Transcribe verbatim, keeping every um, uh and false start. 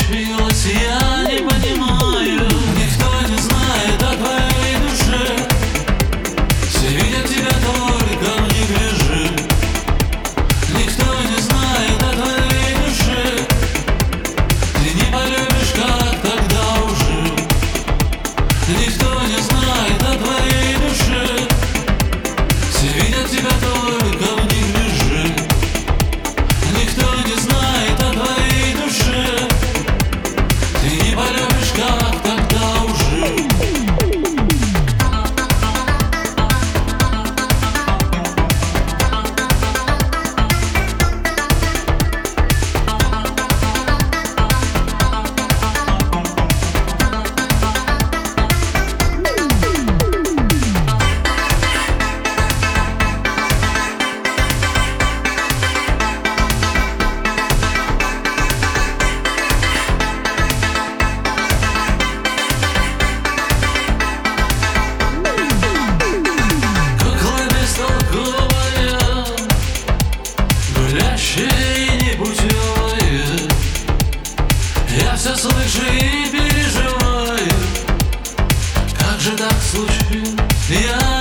случилось, я не понимаю. Никто не знает о твоей душе. Все видят тебя только в неглиже. Никто не знает о твоей душе. Ты не полюбишь, как тогда уже. Никто не знает о твоей душе. Все видят тебя только в неглиже. Никто не знает о твоей душе. Ты не полюбишь, как тогда уже. Я все слышу и переживаю. Как же так случилось? Я